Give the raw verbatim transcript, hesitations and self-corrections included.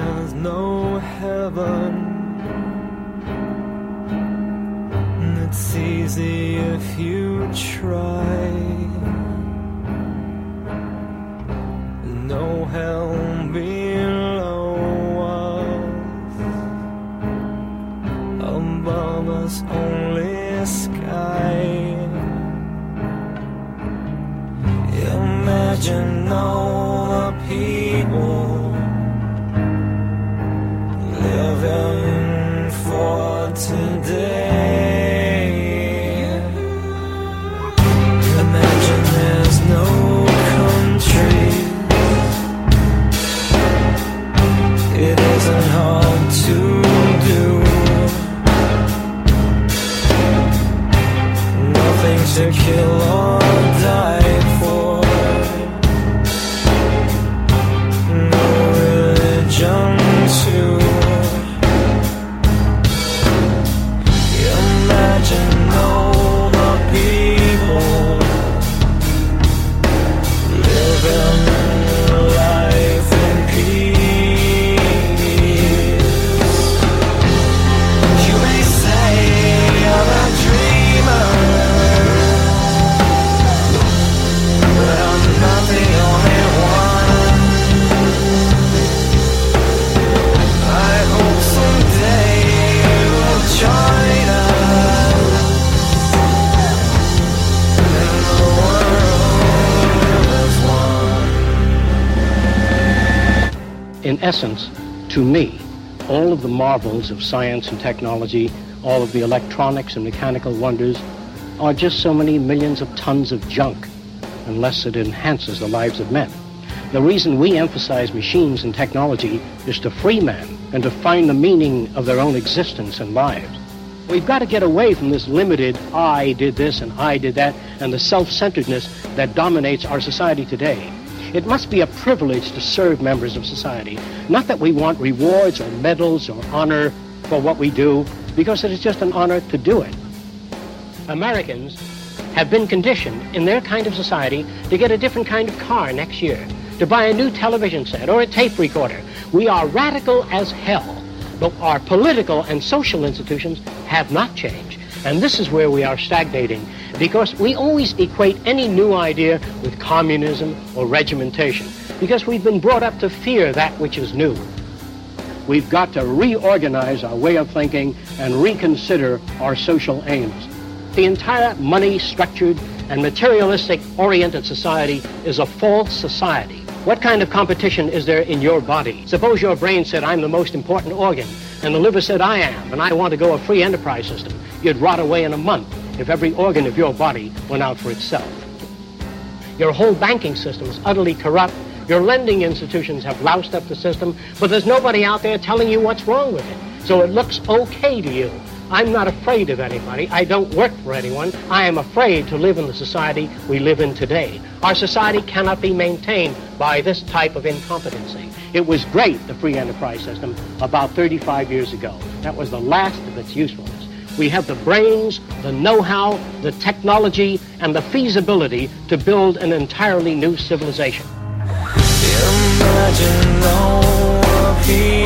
there's no heaven. It's easy if you try. No hell below us, above us only sky. Imagine all the people living for today. Imagine there's no country. It isn't hard to do. Nothing to kill or die for. No religion too. Imagine all the people living life in peace. You may say I'm a dreamer, but I'm not the only one. I hope someday you'll join us. In essence, to me, all of the marvels of science and technology, all of the electronics and mechanical wonders, are just so many millions of tons of junk, unless it enhances the lives of men. The reason we emphasize machines and technology is to free men and to find the meaning of their own existence and lives. We've got to get away from this limited, I did this and I did that, and the self-centeredness that dominates our society today. It must be a privilege to serve members of society. Not that we want rewards or medals or honor for what we do, because it is just an honor to do it. Americans have been conditioned in their kind of society to get a different kind of car next year, to buy a new television set or a tape recorder. We are radical as hell, but our political and social institutions have not changed. And this is where we are stagnating, because we always equate any new idea with communism or regimentation, because we've been brought up to fear that which is new. We've got to reorganize our way of thinking and reconsider our social aims. The entire money-structured and materialistic-oriented society is a false society. What kind of competition is there in your body? Suppose your brain said, I'm the most important organ, and the liver said, I am, and I want to go a free enterprise system. You'd rot away in a month if every organ of your body went out for itself. Your whole banking system is utterly corrupt. Your lending institutions have loused up the system, but there's nobody out there telling you what's wrong with it. So it looks okay to you. I'm not afraid of anybody. I don't work for anyone. I am afraid to live in the society we live in today. Our society cannot be maintained by this type of incompetency. It was great, the free enterprise system, about thirty-five years ago. That was the last of its usefulness. We have the brains, the know-how, the technology, and the feasibility to build an entirely new civilization. Imagine all the people